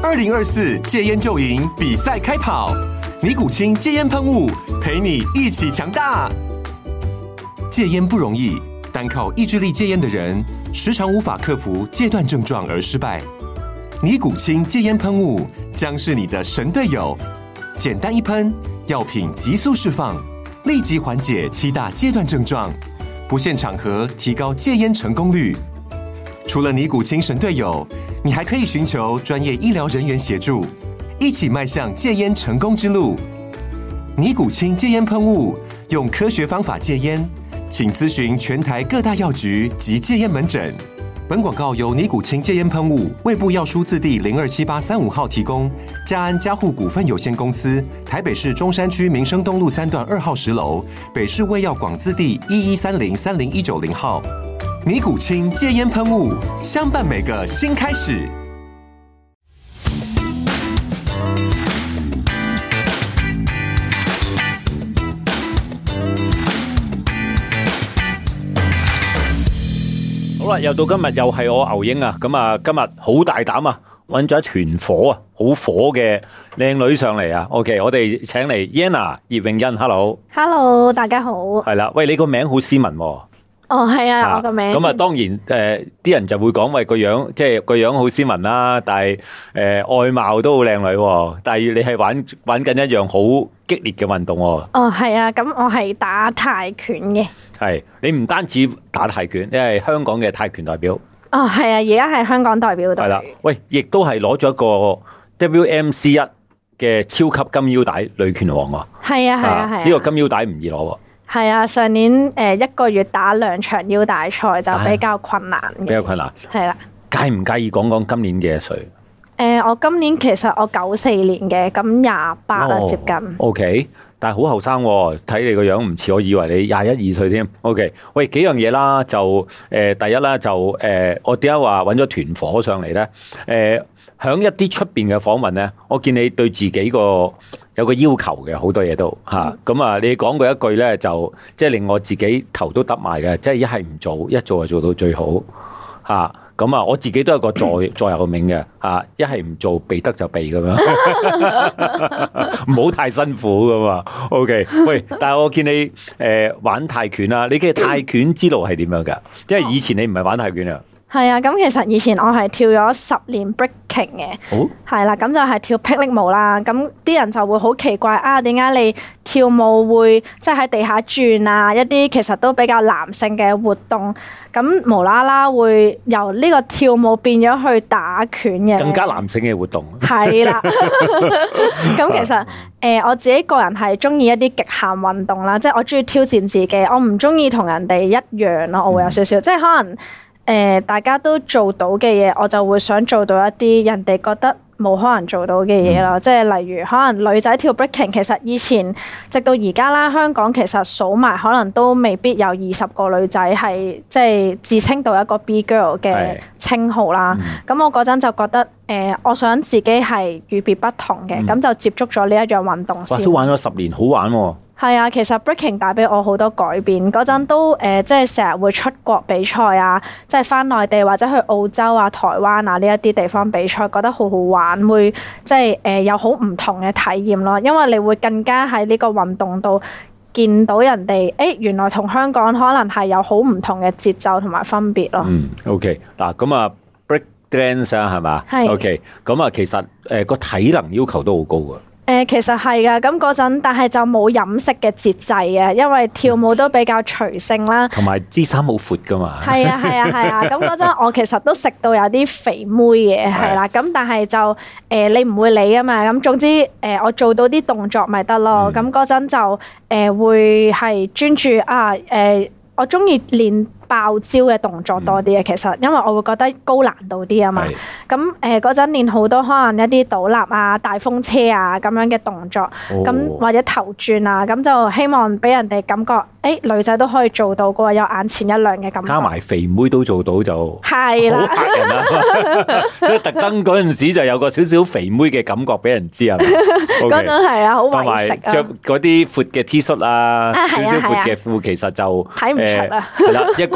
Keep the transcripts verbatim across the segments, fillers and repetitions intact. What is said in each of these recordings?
二零二四戒菸就贏比賽開跑，尼古清戒菸噴霧陪你一起強大。戒菸不容易，單靠意志力戒菸的人，時常無法克服戒斷症狀而失敗。尼古清戒菸噴霧將是你的神隊友，簡單一噴，藥品急速釋放，立即緩解七大戒斷症狀，不限場合提高戒菸成功率。除了尼古清神隊友，你還可以尋求專業醫療人員協助，一起邁向戒菸成功之路。尼古清戒菸噴霧，用科學方法戒菸，請諮詢全台各大藥局及戒菸門診。本廣告由尼古清戒菸噴霧、衛部藥書字第零二七八三五號提供。嘉安嘉護股份有限公司，台北市中山區民生東路三段二號十樓，北市衛藥廣字第一一三零三零一九零號。尼古清戒菸噴霧，相伴每個新開始。 好啦，又到今日，又係我牛英啊！咁啊，今日好大膽啊，揾咗一團火啊，好火嘅靚女上嚟啊 ！OK， 我哋請嚟 Yana 葉詠欣 ，Hello，Hello， 大家好。 係啦，喂，你個名好斯文喎。 哦，係啊，啊我個名。咁啊，當然誒，啲、呃、人就會講喂個樣，即係個樣好斯文啦，但係誒、呃、外貌都好靚女。但係你係玩玩緊一樣好激烈嘅運動。哦， 係啊，咁我係打泰拳嘅。係， 你唔單止打泰拳，你係香港嘅泰拳代表。 哦，係啊，而家係香港代表隊。係啦， 喂，亦都係攞咗一個 W M C 一嘅超級金腰帶女拳王喎。係啊，係啊，係啊。呢、這個金腰帶唔易攞。 係啊，上年誒、呃、一個月打兩場腰帶賽就比較困難嘅。比較困難。係啦。 介唔介意講講今年幾多歲？ 誒、呃，我今年其實我九四年嘅，咁廿八啦，接近。 O、okay, K， 但係好後生，睇你個樣唔似，我以為你廿一二歲添。O K， 喂，幾樣嘢啦，就誒、呃，第一啦，就誒、呃，我點解話揾咗團火上嚟咧？誒、呃，響一啲出邊嘅訪問咧，我見你對自己個有個要求嘅，好多嘢都吓。咁、嗯、啊，你講過一句咧，就即係令我自己頭都耷埋嘅，即係一係唔做，一做就做到最好吓。咁啊，我自己都有個座座右銘嘅吓，一係唔做，避得就避咁樣，唔好太辛苦噶嘛。OK， 喂，但係我見你誒、呃、玩泰拳啦，你嘅泰拳之路係點樣噶？因為以前你唔係玩泰拳啊。 係啊，咁其實以前我係跳咗十年 breaking 嘅，係啦，咁就係跳霹靂舞啦。咁啲人就會好奇怪啊，點解你跳舞會即係喺地下轉啊？一啲其實都比較男性嘅活動，咁無啦啦會由呢個跳舞變咗去打拳嘅，更加男性嘅活動。係啦，咁其實誒、呃、我自己個人係中意一啲極限運動啦，即係我中意挑戰自己，我唔中意同人哋一樣咯，我會有少少，嗯、即係可能。誒、呃，大家都做到嘅嘢，我就會想做到一啲人哋覺得冇可能做到嘅嘢咯。即係例如，可能女仔跳 breaking，其實以前直到而家啦，香港其實數埋可能都未必有二十個女仔係即係自稱到一個 B girl 嘅稱號啦。咁、嗯、我嗰陣就覺得，誒、呃，我想自己係與別不同嘅，咁、嗯、就接觸咗呢一樣運動先。哇，都玩咗十年，好玩喎、哦！係啊，其實 breaking 帶俾我好多改變。嗰陣都誒、呃，即係成日會出國比賽啊，即係返內地或者去澳洲啊、台灣啊呢一啲地方比賽，覺得好好玩，會即係誒、呃、有好唔同嘅體驗咯。因為你會更加喺呢個運動度見到人哋，誒、欸、原來同香港可能係有好唔同嘅節奏同埋分別咯。嗯 ，OK， 嗱咁啊 break dance 啊係嘛？係。OK， 咁啊其實誒個、呃、體能要求都好高㗎。誒、呃、其實係㗎，咁嗰陣，但係就冇飲食嘅節制嘅，因為跳舞都比較隨性啦，同埋支衫好闊㗎嘛。係啊係啊係啊，咁嗰陣我其實都食到有啲肥妹嘅，係啦，咁但係就誒、呃、你唔會理啊嘛，咁總之誒、呃、我做到啲動作咪得咯，咁嗰陣就誒、呃、會係專注啊誒、呃，我鍾意練爆招嘅動作多啲嘅，其實因為我會覺得高難度啲啊嘛。咁誒嗰陣練好多可能一啲倒立啊、大風車啊咁樣嘅動作，咁、哦、或者頭轉啊，咁就希望俾人哋感覺，誒、欸、女仔都可以做到嘅，有眼前一亮嘅感覺。加埋肥妹都做到就係啦，好嚇人啦。所以特登嗰陣時就有個少少肥妹嘅感覺俾人知啊。嗰陣係啊，好為食啊。着嗰啲闊嘅 T 恤啊，少少闊嘅褲，其實就睇唔出啊。係啦，一個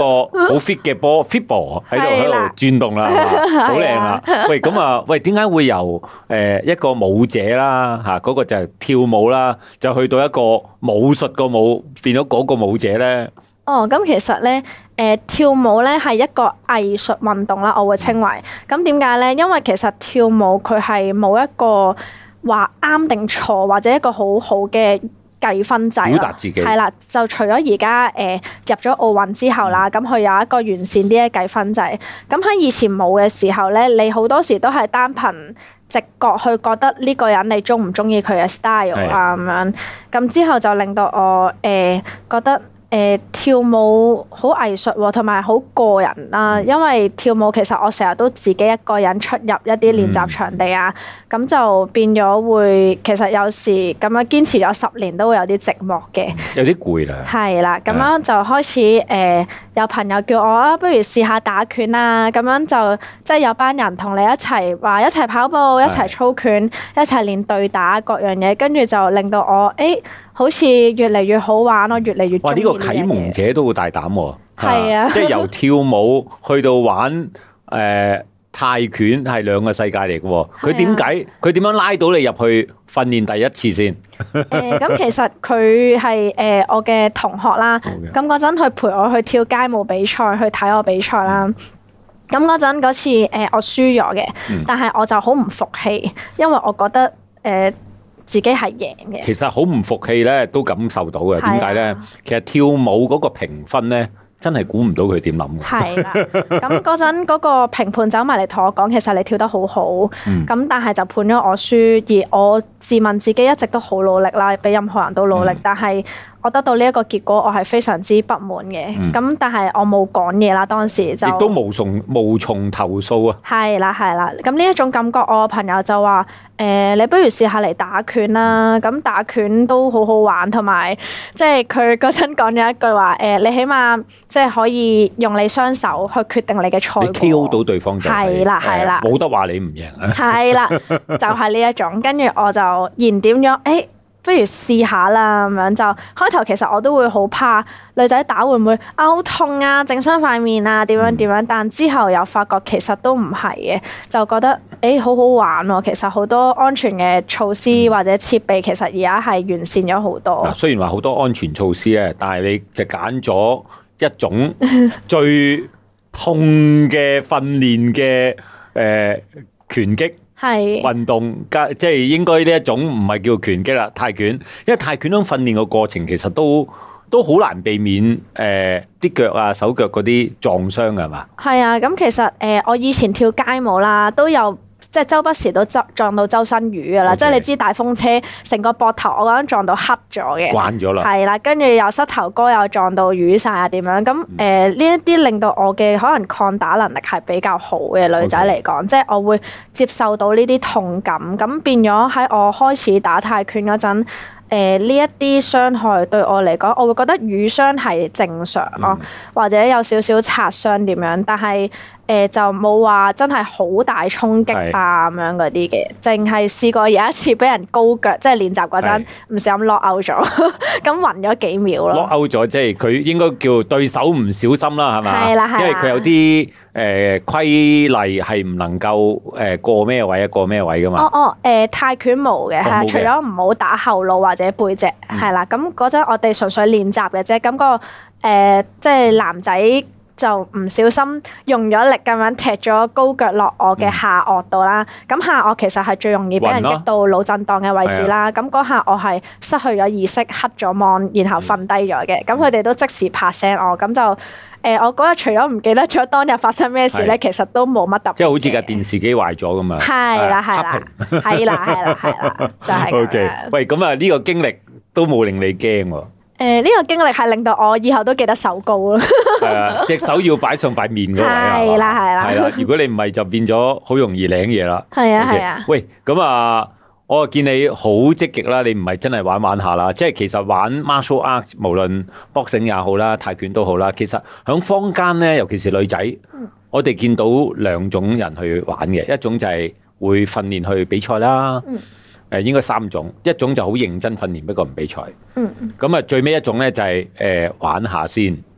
個好 fit 嘅波 fit ball 喺度喺度轉動啦，好靚啊！喂，咁啊，喂，點解會由誒一個舞者啦嚇，嗰個就係跳舞啦，就去到一個武術個舞變咗嗰個舞者咧？ 哦，咁其實咧，誒、呃、跳舞咧係一個藝術運動啦，我會稱為。咁點解咧？因為其實跳舞佢係冇一個話啱定錯，或者一個好好嘅計分制。表達自己。係啦，就除咗而家誒入咗奧運之後啦，咁佢、嗯、有一個完善啲嘅計分制。咁喺以前冇嘅時候咧，你好多時都係單憑直覺去覺得呢個人你中唔中意佢嘅 style 啊咁樣。咁之後就令到我誒、呃、覺得。誒、呃、跳舞好藝術喎，同埋好個人啦。因為跳舞其實我成日都自己一個人出入一啲練習場地啊，咁、嗯、就變咗會其實有時咁樣堅持咗十年都會有啲寂寞嘅， 有啲攰啦。係啦，咁樣就開始誒、呃、有朋友叫我啊，不如試下打拳啊，咁樣就即係有班人同你一齊話一齊跑步、一齊操拳、一齊練對打各樣嘢，跟住就令到我誒。欸好似越嚟越好玩咯，越嚟越中意呢樣嘢。哇！呢個啟蒙者都好大膽喎。係啊，即係由跳舞去到玩誒、呃、泰拳係兩個世界嚟嘅喎。佢點解佢點樣拉到你入去訓練第一次先？誒咁、呃、其實佢係誒我嘅同學啦。咁嗰陣佢陪我去跳街舞比賽，去睇我比賽啦。咁嗰陣嗰次誒、呃、我輸咗嘅，嗯、但係我就好唔服氣，因為我覺得誒。呃自己係贏嘅，其實好唔服氣咧，都感受到嘅。點解咧？其實跳舞嗰個評分咧，真係估唔到佢點諗嘅。係啦，咁嗰陣嗰個評判走埋嚟同我講，其實你跳得好好，咁、嗯、但係就判咗我輸，而我自問自己一直都好努力啦，比任何人都努力，嗯、但係。我得到呢一個結果，我係非常之不滿嘅。咁、嗯、但係我冇講嘢啦，當時就亦都無從無從投訴啊。係啦，係啦。咁呢一種感覺，我朋友就話：誒、呃，你不如試下嚟打拳啦。咁打拳都好好玩，同埋即係佢嗰陣講咗一句話：誒、呃，你起碼即係可以用你雙手去決定你嘅賽果。你 K O 到對方就係啦，係啦，冇得話你唔贏啊。係啦，就係呢一種。跟住我就燃點咗，誒、欸。不如試下啦，咁樣就開頭其實我都會好怕女仔打會唔會啊好痛啊，整傷塊面啊，點樣點樣，但之後又發覺其實都唔係嘅，就覺得誒、欸、好好玩喎。其實好多安全嘅措施或者設備其實而家係完善咗好多。嗱，雖然話好多安全措施咧，但係你就揀咗一種最痛嘅訓練嘅誒拳擊。係運動加即係應該呢一種唔係叫拳擊啦，泰拳，因為泰拳種訓練嘅過程其實都都好難避免誒啲腳啊手腳嗰啲撞傷㗎係嘛？係啊，咁其實誒、呃、我以前跳街舞啦，都有。即係周不時都撞撞到周身瘀㗎啦，Okay. 即係你知大風車成個膊頭我嗰陣撞到黑咗嘅，慣咗啦，係啦，跟住又膝頭哥又撞到瘀晒啊點樣？咁誒呢一啲令到我嘅可能抗打能力係比較好嘅女仔嚟講，Okay. 即係我會接受到呢啲痛感，咁變咗喺我開始打泰拳嗰陣。誒呢一啲傷害對我嚟講，我會覺得瘀傷係正常咯，嗯、或者有少少擦傷點樣，但係誒、呃、就冇話真係好大衝擊啊咁樣嗰啲嘅，淨係試過有一次俾人高腳，即係練習嗰陣唔小心 lock out 咗，咁暈咗幾秒咯。lock out 咗即係佢應該叫對手唔小心啦，係咪？係啦係啦，因為佢有啲。誒、呃、規例係唔能夠誒、呃、過咩位啊過咩位噶嘛？哦哦誒、呃、泰拳冇嘅係，除咗唔好打後腦或者背脊係啦。咁嗰陣我哋純粹練習嘅啫。咁、那個誒、呃、即係男仔就唔小心用咗力咁樣踢咗高腳落我嘅下顎度啦。咁、嗯、下顎其實係最容易俾人擊到腦震盪嘅位置啦。咁嗰下我係失去咗意識，黑咗網，然後瞓低咗嘅。咁佢哋都即時拍醒我，咁就。誒、呃，我嗰日除咗唔記得咗當日發生咩事咧，是其實都冇乜特別。即係好似架電視機壞咗咁啊！係啦，係啦，係啦，係啦，係啦，就係、是。O、okay. K， 喂，咁啊，呢個經歷都冇令你驚喎。誒、呃，呢、這個經歷係令到我以後都記得手高咯。係啊，隻手要擺上塊面嗰位啊。係啦，係啦。係啦，如果你唔係，就變咗好容易領嘢啦。係啊，係啊。喂，咁啊。我見你好積極啦，你唔係真係玩玩下啦，即係其實玩 martial arts，無論 boxing 也好啦，泰拳都好啦，其實喺坊間咧，尤其是女仔，嗯、我哋見到兩種人去玩嘅，一種就係會訓練去比賽啦，誒、嗯、應該三種，一種就好認真訓練，不過唔比賽，咁啊、嗯、最尾一種咧就係誒玩下先，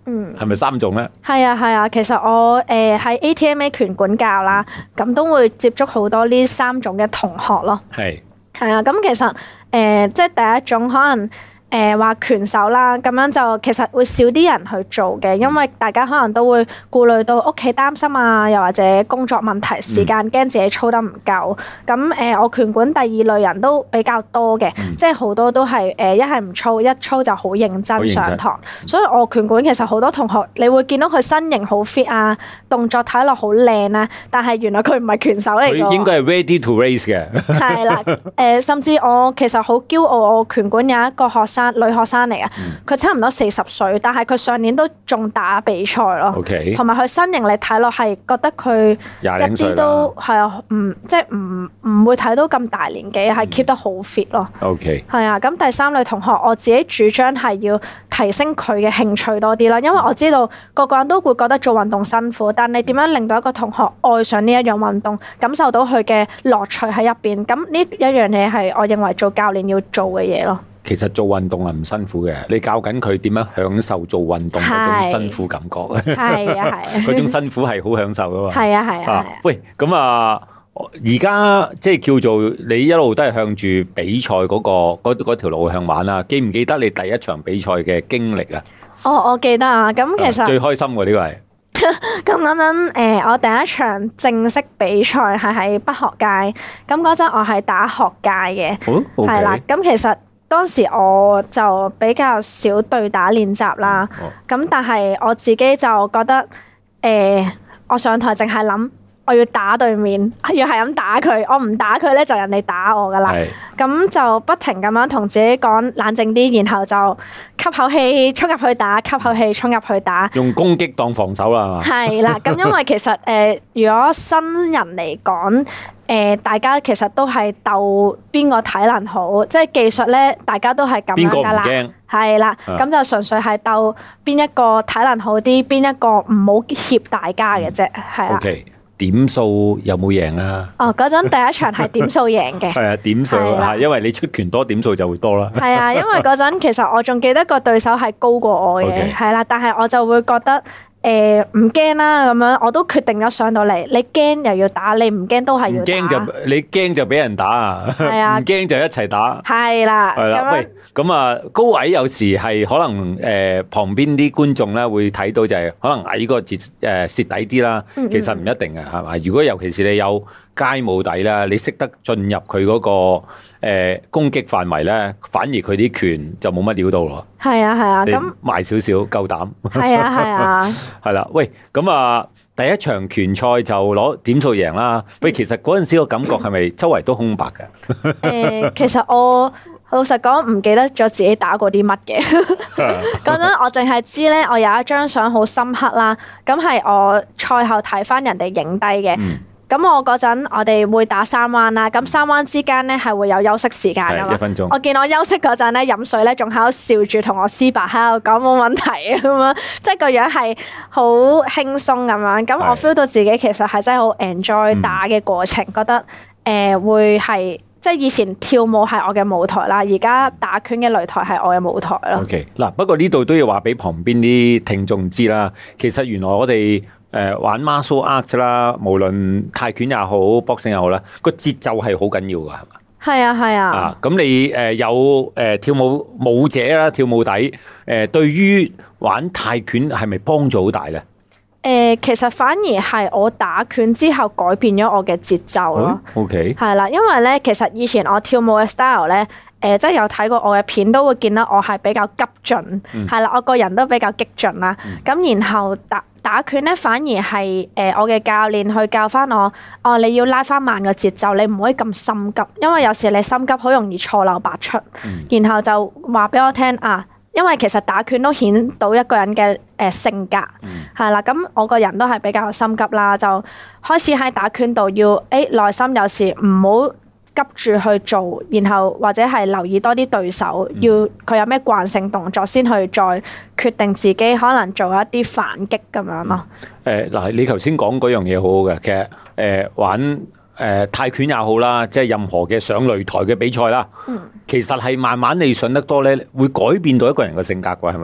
嗯， 係咪三種咧？ 係啊係啊，其實我誒喺 A T M A 拳館教啦，咁都會接觸好多呢三種嘅同學咯。 係係啊，咁其實誒、呃、即係第一種可能。誒話、呃、拳手啦，咁樣就其實會少啲人去做嘅，因為大家可能都會顧慮到屋企擔心啊，又或者工作問題、時間驚自己操得唔夠。咁誒、呃，我拳館第二類人都比較多嘅，嗯、即係好多都係誒一係唔操，一操就好認真上堂。所以我拳館其實好多同學，你會見到佢身形好 fit 啊，動作睇落好靚啊，但係原來佢唔係拳手嚟㗎。佢應該係 ready to race 嘅。 係啦，誒、呃，甚至我其實好驕傲，我拳館有一個學生。女學生嚟啊，佢差唔多四十歲，但係佢上年都仲打比賽咯。 OK， 同埋佢身形你睇落係覺得佢一啲都係啊，唔即係唔唔會睇到咁大年紀，係 keep 得好 fit 咯。 OK， 係啊，咁第三類同學，我自己主張係要提升佢嘅興趣多啲啦，因為我知道個個人都會覺得做運動辛苦，但你點樣令到一個同學愛上呢一樣運動，感受到佢嘅樂趣喺入邊，咁呢一樣嘢係我認為做教練要做嘅嘢咯。 其實做運動係唔辛苦嘅，你教緊佢點樣享受做運動嗰種辛苦感覺。 係啊係啊， 嗰種辛苦係好享受噶嘛。 係啊係啊。啊喂，咁啊，而家即係叫做你一路都係向住比賽嗰、嗰個嗰條路向玩啦。記唔記得你第一場比賽嘅經歷啊？ 哦，我記得啊。咁其實、啊、最開心喎呢個係。 咁嗰陣誒，我第一場正式比賽係喺北學界。咁嗰陣我係打學界嘅，係啦、哦。咁、okay. 其實。當時我就比較少對打練習啦，咁、哦、但係我自己就覺得，誒、呃，我上台淨係諗我要打對面，要係咁打佢，我唔打佢咧就人哋打我噶啦，咁是就不停咁樣同自己講冷靜啲，然後就吸口氣衝入去打，吸口氣衝入去打， 用攻擊當防守啦， 係啦，咁因為其實誒、呃，如果新人嚟講。誒、呃，大家其實都係鬥邊個體能好，即係技術咧，大家都係咁樣噶啦，係啦，咁就純粹係鬥邊一個體能好啲，邊一個唔好脅大家嘅啫，係啦。 OK，點數有冇贏啊？ 哦，嗰陣第一場係點數贏嘅，係啊， 點數係，因為你出拳多，點數就會多啦。係啊，因為嗰陣其實我仲記得個對手係高過我嘅，係啦 Okay.，但係我就會覺得。誒唔驚啦，咁樣我都決定咗上到嚟。你驚又要打，你唔驚都係要打。驚就你驚就俾人打啊！係啊，唔驚就一齊打。係啦，係啦。喂，咁啊，高矮有時係可能誒旁邊啲觀眾咧會睇到就係可能矮嗰個節誒蝕底啲啦。其實唔一定嘅，係嘛？如果尤其是你有街武底啦，你識得進入佢嗰個誒攻擊範圍咧，反而佢啲拳就冇乜料到咯。係啊係啊，咁賣少少夠膽。係啊係啊。係啦，喂，咁啊，第一場拳賽就攞點數贏啦。喂，其實嗰陣時個感覺係咪周圍都空白㗎？誒、呃，其實我老實講唔記得咗自己打過啲乜嘅。嗰陣我淨係知咧，我有一張相好深刻啦。咁係我賽後睇翻人哋影低嘅。嗯咁我嗰陣我哋會打三彎啦，咁三彎之間咧係會有休息時間噶嘛。一分鐘。我見我休息嗰陣咧飲水咧，仲喺度笑住同我師伯喺度講冇問題啊咁樣，即係個樣係好輕鬆咁樣。咁我 feel 到自己其實係真係好 enjoy 打嘅過程，嗯、覺得誒、呃、會係即係以前跳舞係我嘅舞台啦，而家打拳嘅擂台係我嘅舞台咯。OK，嗱不過呢度都要話俾旁邊啲聽眾知啦，其實原來我哋。誒、呃、玩 martial art 啦，無論泰拳也好，boxing 也好啦，個節奏係好緊要㗎，係嘛？係啊，係啊。啊，咁你誒、呃、有誒、呃、跳舞舞者啦，跳舞底誒、呃，對於玩泰拳係咪幫助好大咧？誒、呃，其實反而係我打拳之後改變咗我嘅節奏咯。OK。係啦，因為咧，其實以前我跳舞嘅 style 咧。誒、呃，即係有睇過我嘅片，都會見到我係比較急進，係啦、嗯，我個人都比較激進啦。咁、嗯、然後打打拳咧，反而係誒、呃、我嘅教練去教翻我，哦，你要拉翻慢個節奏，你唔可以咁心急，因為有時你心急好容易錯漏百出。嗯、然後就話俾我聽啊，因為其實打拳都顯到一個人嘅誒、呃、性格，係啦、嗯。咁我個人都係比較心急啦，就開始喺打拳度要誒耐心，有時唔好急住去做，然後或者係留意多啲對手，嗯、要佢有咩慣性動作，先去再決定自己可能做一啲反擊咁樣咯。誒嗱、嗯，你頭先講嗰樣嘢好好嘅，其實誒、呃、玩誒、呃、泰拳也好啦，即係任何嘅上擂台嘅比賽啦，嗯、其實係慢慢你上得多咧，會改變到一個人嘅性格㗎，係咪咧？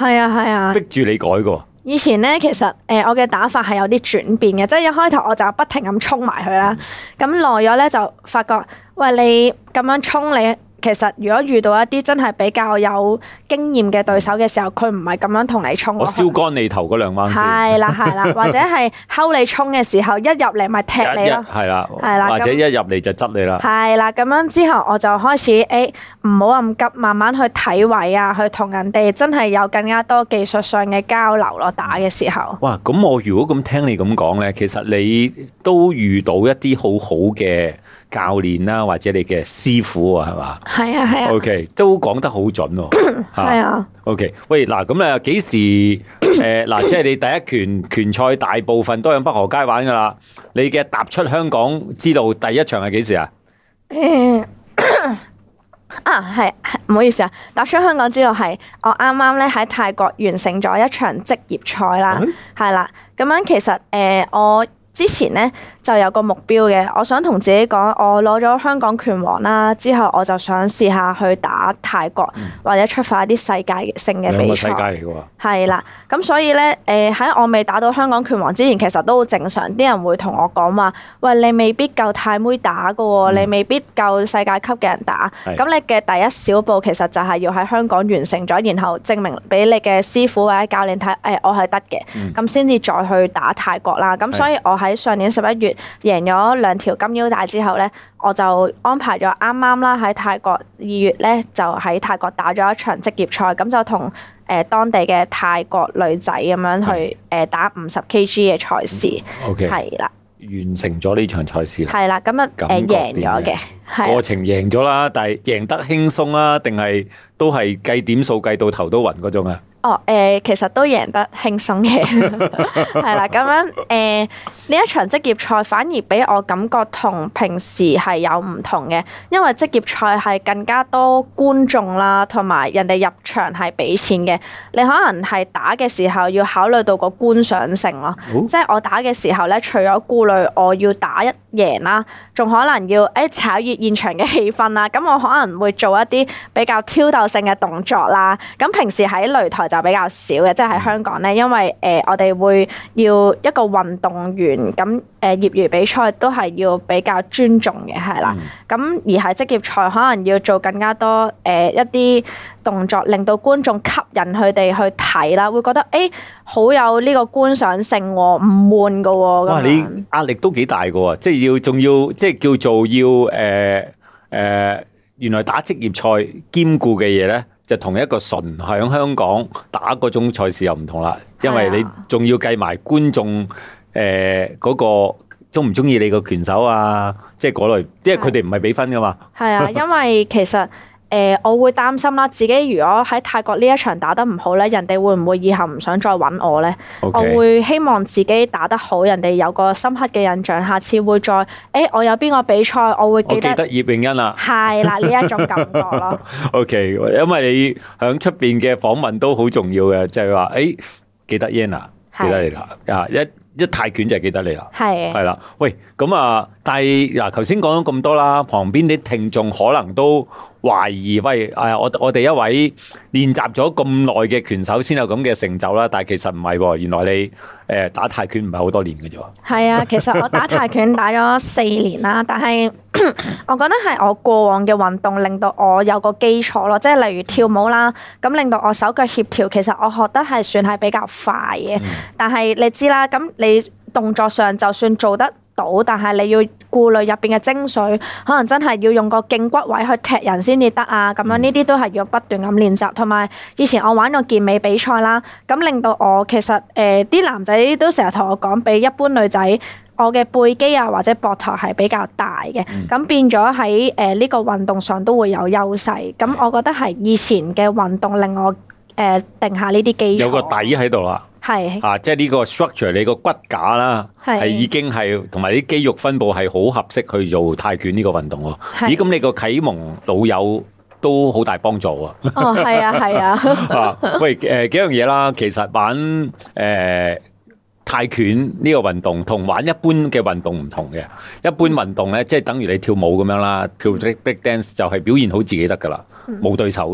係啊係啊， 逼住你改嘅。 以前咧，其實誒、呃、我嘅打法係有啲轉變嘅，即係一開頭我就不停咁衝埋去啦，咁耐咗咧就發覺，喂，你咁樣衝你。其實如果遇到一啲真係比較有經驗嘅對手嘅時候，佢唔係咁樣同你衝。 我燒乾你頭嗰兩彎先。 係啦係啦，或者係睺你衝嘅時候，一入嚟咪踢你咯。 係啦， 係啦， 或者一入嚟就執你啦。 係啦，咁樣之後我就開始誒，唔好咁急，慢慢去睇位啊，去同人哋真係有更加多技術上嘅交流咯。打嘅時候。 哇，咁我如果咁聽你咁講咧，其實你都遇到一啲好好嘅教練啦，或者你嘅師傅啊，係嘛？係啊係啊。 O K， 都講得好準喎。 係啊。 O K， 喂，嗱，咁啊，幾時誒嗱，即係你第一拳拳賽大部分都喺北河街玩噶啦。你嘅踏出香港之路第一場係幾時啊？ 誒啊，係係，唔好意思啊，踏出香港之路係我啱啱咧喺泰國完成咗一場職業賽啦，係啦，咁樣其實誒我。之前咧就有個目標嘅，我想同自己講，我攞咗香港拳王啦，之後我就想試下去打泰國，嗯、或者出發一啲世界性嘅比賽。兩個世界嚟嘅喎。係啦，咁所以咧，誒、呃、喺我未打到香港拳王之前，其實都好正常，啲人會同我講話，喂，你未必夠泰妹打㗎喎，嗯、你未必夠世界級嘅人打。咁的你嘅第一小步其實就係要喺香港完成咗，然後證明俾你嘅師傅或者教練睇，誒、哎、我係得嘅，咁先至再去打泰國啦。咁所以我喺上年十一月贏咗兩條金腰帶之後咧，我就安排咗啱啱啦喺泰國二月咧就喺泰國打咗一場職業賽，咁就同誒、呃、當地嘅泰國女仔咁樣去誒、呃、打五十 kg 嘅賽事。OK， 係啦， 完成咗呢場賽事。係啦，咁啊誒贏咗嘅， 過程贏咗啦，但係贏得輕鬆啊，定係都係計點數計到頭都暈嗰種啊？ 哦，誒、呃，其實都贏得輕鬆嘅，係啦，咁樣誒，呢、呃、一場職業賽反而俾我感覺同平時係有唔同嘅，因為職業賽係更加多觀眾啦，同埋人哋入場係俾錢嘅，你可能係打嘅時候要考慮到個觀賞性咯，哦、即係我打嘅時候咧，除咗顧慮我要打一贏啦，仲可能要誒炒熱現場嘅氣氛啦，咁我可能會做一啲比較挑逗性嘅動作啦，咁平時喺擂台就比較少嘅，即係喺香港咧，因為誒、呃、我哋會要一個運動員咁誒、呃、業餘比賽都係要比較尊重嘅，係啦。咁、嗯、而係職業賽可能要做更加多誒、呃、一啲動作，令到觀眾吸引佢哋去睇啦，會覺得誒好、欸、有呢個觀賞性，唔悶噶。哇！ 你壓力都幾大噶，即係要仲要即係叫做要誒誒、呃呃，原來打職業賽兼顧嘅嘢咧。就同一個純喺香港打嗰種賽事又唔同啦，因為你仲要計埋觀眾誒嗰個中唔中意你個拳手啊，即係嗰類，因為佢哋唔係俾分噶嘛。係啊， 因為其實。誒、呃，我會擔心啦，自己如果喺泰國呢一場打得唔好咧，人哋會唔會以後唔想再揾我咧？Okay. 我會希望自己打得好，人哋有個深刻嘅印象，下次會再誒、欸，我有邊個比賽，我會記得。我記得葉詠欣啦。係啦，呢一種感覺咯。O、 okay, K， 因為你喺出邊嘅訪問都好重要嘅，就係話誒，記得 Yan， 記得你啦，啊一。一泰拳就係記得你啦，係係啦，喂，咁啊，但係嗱，頭先講咗咁多啦，旁邊啲聽眾可能都懷疑，喂，誒，我我哋一位練習咗咁耐嘅拳手先有咁嘅成就啦，但係其實唔係喎，原來你誒打泰拳唔係好多年嘅啫喎。係啊，其實我打泰拳打咗四年啦，但係我覺得係我過往嘅運動令到我有個基礎咯，即係例如跳舞啦，咁令到我手腳協調，其實我學得係算係比較快嘅，嗯、但係你知啦，咁。你動作上就算做得到，但係你要顧慮入邊嘅精髓，可能真係要用個頸骨位去踢人先至得啊！咁樣呢啲都係要不斷咁練習。同埋以前我玩過健美比賽啦，咁令到我其實誒啲、呃、男仔都成日同我講，比一般女仔我嘅背肌啊或者膊頭係比較大嘅，咁、嗯、變咗喺誒呢個運動上都會有優勢。咁我覺得係以前嘅運動令我誒、呃、定下呢啲基礎， 有個底喺度啦。係是啊，即係呢個 structure，你個骨架啦，係是已經係同埋啲肌肉分布係好合適去做泰拳呢個運動喎。是咦，咁你個啟蒙老友都好大幫助喎。 哦，係啊，係啊。 啊，喂，誒、呃、幾樣嘢啦，其實玩誒、呃、泰拳呢個運動同玩一般嘅運動唔同嘅。一般運動咧，即係等於你跳舞咁樣啦，跳 break dance 就係表現好自己得噶啦，冇、嗯、對手嘅。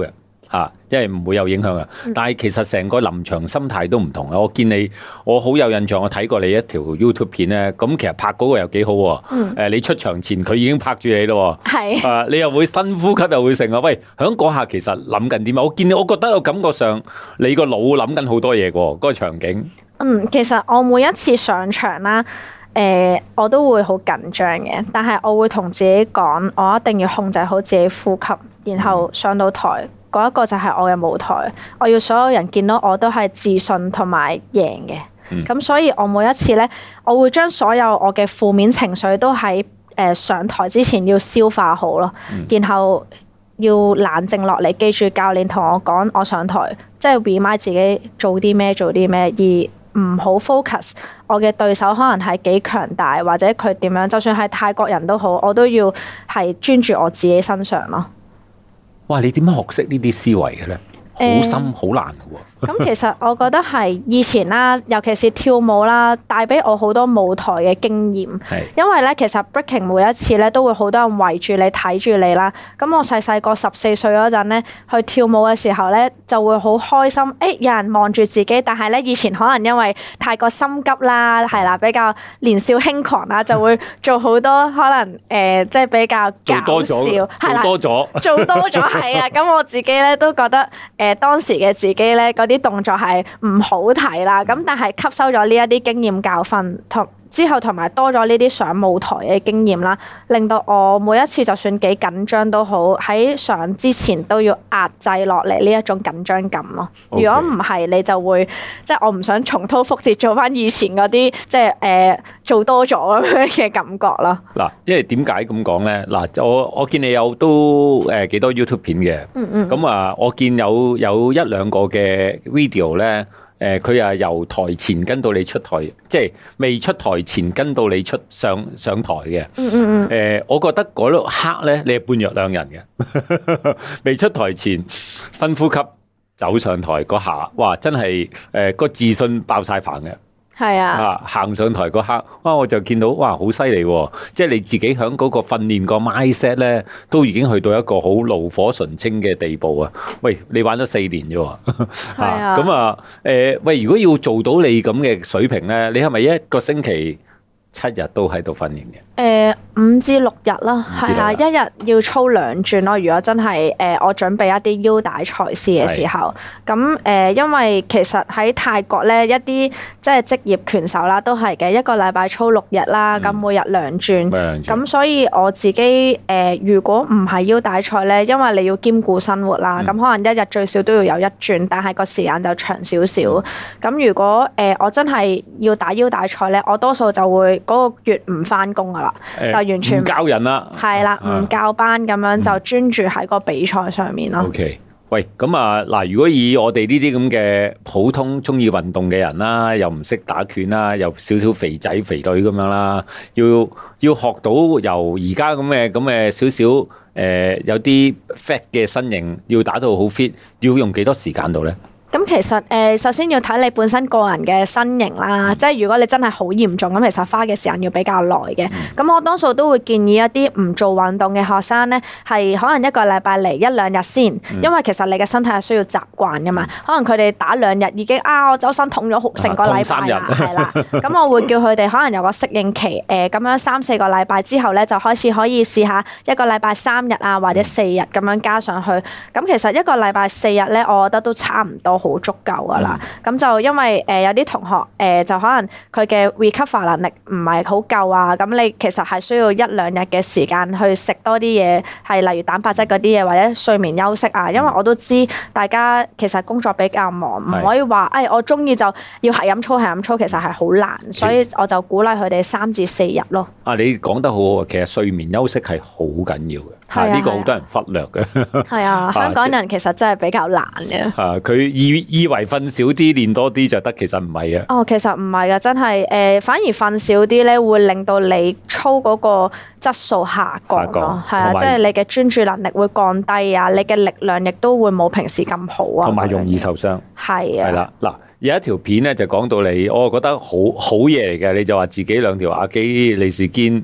啊，因為唔會有影響啊。但係其實成個臨場心態都唔同啊。我見你，我好有印象，我睇過你一條 YouTube 片咧，咁其實拍嗰個又幾好喎。嗯。誒，你出場前佢已經拍住你咯。係。啊，你又會深呼吸又會成啊？喂，響嗰下其實諗緊點啊？我見你，我覺得我感覺上你個腦諗緊好多嘢喎，嗰個場景。嗯， 其實我每一次上場啦，誒、呃，我都會好緊張嘅，但係我會同自己講，我一定要控制好自己呼吸，然後上到台嗰一個就係我嘅舞台，我要所有人見到我都係自信同埋贏嘅。咁、嗯、所以我每一次咧，我會將所有我嘅負面情緒都喺誒、呃、上台之前要消化好咯，嗯、然後要冷靜落嚟，記住教練同我講，我上台即係 remind 自己做啲咩做啲咩，而唔好 focus 我嘅對手可能係幾強大，或者佢點樣，就算係泰國人都好，我都要係專注我自己身上咯。 哇！你點樣學識呢啲思維嘅咧？好深好難嘅喎。 咁其實我覺得係以前啦，尤其是跳舞啦，帶俾我好多舞台嘅經驗。係。因為咧，其實 breaking 每一次咧都會好多人圍住你睇住你啦。咁我細細個十四歲嗰陣咧，去跳舞嘅時候咧，就會好開心。誒、欸，有人望住自己，但係咧以前可能因為太過心急啦，係啦，比較年少輕狂啦，就會做好多可能誒、呃，即係比較搞笑，係啦， 做多咗， 做多咗係啊。咁我自己咧都覺得誒、呃，當時嘅自己咧啲動作係唔好睇啦，咁但係吸收咗呢一啲經驗教訓，同之後同埋多咗呢啲上舞台嘅經驗啦，令到我每一次就算幾緊張都好，喺上之前都要壓制落嚟呢一種緊張感咯。Okay. 如果唔係，你就會即係我唔想重蹈覆轍做翻以前嗰啲即係誒、呃、做多咗咁樣嘅感覺咯。嗱， 因為點解咁講咧？嗱，我我見你有都誒幾多 YouTube 片嘅，嗯嗯，咁啊，我見有有一兩個嘅 video 咧。誒佢啊由台前跟到你出台，即係未出台前跟到你出上上台嘅。嗯嗯嗯。誒，我覺得嗰刻咧，你係判若兩人嘅。未出台前，深呼吸，走上台嗰下，哇！真係誒個自信爆晒棚嘅。係啊，啊行上台嗰刻，哇！我就見到哇，好犀利喎！即係你自己喺嗰個訓練個 mindset 咧，都已經去到一個好爐火純青嘅地步啊！喂，你玩咗四年啫喎，係啊，咁啊，誒，喂，如果要做到你咁嘅水平咧，你係咪一個星期七日都喺度訓練嘅？誒、呃，五至六日啦，係啊，一日要操兩轉咯。如果真係誒、呃，我準備一啲腰帶賽事嘅時候，咁誒、呃，因為其實喺泰國咧，一啲即係職業拳手啦，都係嘅，一個禮拜操六日啦，咁、嗯、每日兩轉，咁所以我自己誒、呃，如果唔係腰帶賽咧，因為你要兼顧生活啦，咁、嗯、可能一日最少都要有一轉，但係個時間就長少少。咁、嗯、如果誒、呃、我真係要打腰帶賽咧，我多數就會嗰個月唔翻工噶啦。就完全唔教人啦，係啦，唔教班咁樣就專注喺個比賽上面咯。OK，喂，咁啊嗱，如果以我哋呢啲咁嘅普通中意運動嘅人啦，又唔識打拳啦，又少少肥仔肥女咁樣啦，要要學到由而家咁嘅咁嘅少少誒有啲 fat 嘅身形，要打到好 fit，要用幾多時間度咧？ 咁其實誒、呃，首先要睇你本身個人嘅身形啦，即係如果你真係好嚴重，咁其實花嘅時間要比較耐嘅。咁、嗯、我多數都會建議一啲唔做運動嘅學生咧，係可能一個禮拜嚟一兩日先，嗯、因為其實你嘅身體係需要習慣噶嘛。嗯、可能佢哋打兩日已經啊，我周身痛咗成個禮拜啦，係啦。咁我會叫佢哋可能有個適應期，誒、呃、咁樣三四個禮拜之後咧，就開始可以試下一個禮拜三日啊，或者四日咁樣加上去。咁其實一個禮拜四日咧，我覺得都差唔多。好足夠噶啦，咁、嗯、就因為誒、呃、有啲同學誒、呃、就可能佢嘅 recover 能力唔係好夠啊，咁你其實係需要一兩日嘅時間去食多啲嘢，係例如蛋白質嗰啲嘢或者睡眠休息啊。因為我都知大家其實工作比較忙，唔可以話誒、哎、我中意就要係咁操係咁操，其實係好難，所以我就鼓勵佢哋三至四日咯。啊，你講得好好啊，其實睡眠休息係好緊要嘅。係呢個好多人忽略嘅。係啊，香港人其實真係比較難嘅。啊，佢以以為瞓少啲練多啲就得，其實唔係啊。哦，其實唔係噶，真係誒、呃，反而瞓少啲咧，會令到你操嗰個質素下降咯。係啊，即係你嘅專注能力會降低啊，你嘅力量亦都會冇平時咁好啊。同埋容易受傷。係啊。係啦，嗱，有一條片咧就講到你，我覺得好好嘢嚟嘅，你就話自己兩條阿基利士堅。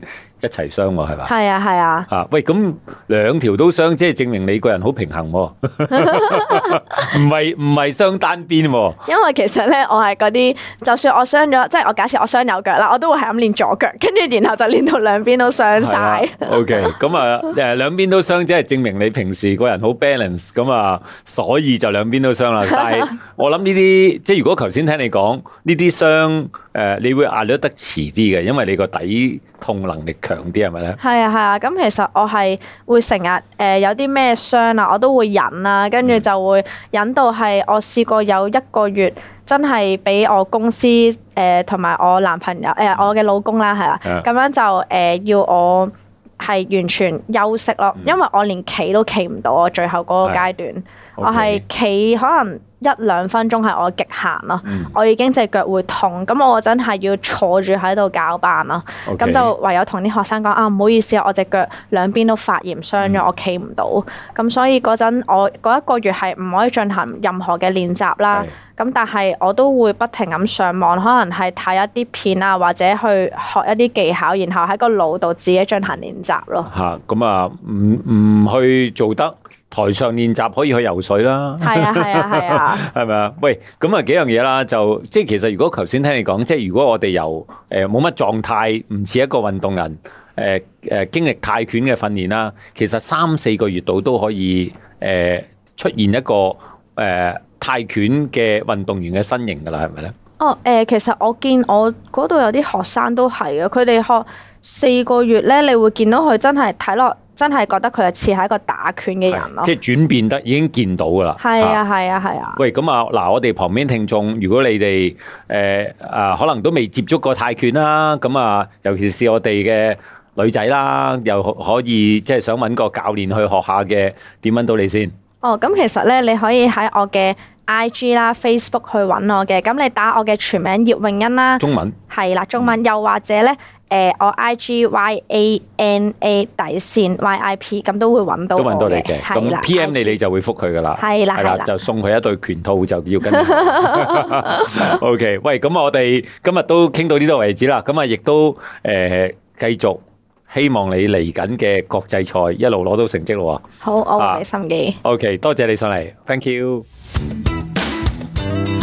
一齊傷喎，係嘛？ 係啊係啊。 啊，喂，咁兩條都傷，即係證明你個人好平衡喎，唔係唔係傷單邊喎。因為其實咧，我係嗰啲，就算我傷咗，即係我假設我傷右腳啦，我都會係咁練左腳，跟住然後就練到兩邊都傷晒。 OK，咁啊，誒兩邊都傷，即係證明你平時個人好 balance，咁啊，所以就兩邊都傷啦。但係我諗呢啲，即係如果頭先聽你講呢啲傷，誒，你會壓得得遲啲嘅，因為你個抵痛能力強啲，係咪咧？係啊係啊，咁其實我係會成日誒有啲咩傷啊，我都會忍啊，跟住就會忍到係我試過有一個月真係俾我公司誒同埋我男朋友誒、呃、我嘅老公啦，係啦，咁樣就誒、呃、要我係完全休息咯，因為我連企都企唔到，我最後嗰個階段，嗯 okay. 我係企可能一兩分鐘係我極限咯，嗯、我已經隻腳會痛，咁我真係要坐住喺度攪拌咯，咁 Okay. 就唯有同啲學生講啊，唔好意思啊，我隻腳兩邊都發炎傷咗，嗯、我企唔到，咁所以嗰陣我嗰一個月係唔可以進行任何嘅練習啦，咁是但係我都會不停咁上網，可能係睇一啲片啊，或者去學一啲技巧，然後喺個腦度自己進行練習咯。嚇， 咁啊，唔唔去做得。台上練習可以去游水啦， 係啊係啊係啊， 係咪啊？喂，咁啊幾樣嘢啦，就即係其實如果頭先聽你講，即係如果我哋由誒冇乜狀態，唔似一個運動人，誒、呃、誒、呃、經歷泰拳嘅訓練啦，其實三四個月度都可以誒、呃、出現一個誒、呃、泰拳嘅運動員嘅身形噶啦，係咪咧？ 哦誒、呃，其實我見我嗰度有啲學生都係啊，佢哋學四個月咧，你會見到佢真係睇落。真係覺得佢係似係一個打拳嘅人咯， 即係轉變得已經見到噶啦。 係啊，係啊，係啊。 喂，咁啊，嗱，我哋旁邊聽眾，如果你哋誒啊，可能都未接觸過泰拳啦，咁啊，尤其是我哋嘅女仔啦，又可以即係想揾個教練去學下嘅，點揾到你先？ 哦，咁其實咧，你可以喺我嘅 I G 啦、Facebook 去揾我嘅。咁你打我嘅全名葉詠欣啦， 中文係啦，中文、嗯、又或者咧。誒、呃，我 I G Y A N A 底線 Y I P 咁都會揾到我嘅，都揾到你嘅。咁 P M 你你就會覆佢噶啦，係啦係啦，就送佢一對拳套就要跟。O K， 喂，咁我哋今日都傾到呢度為止啦。咁啊，亦都誒繼續希望你嚟緊嘅國際賽一路攞到成績咯。 好，我會俾心機。 O K，多謝你上嚟 ，Thank you。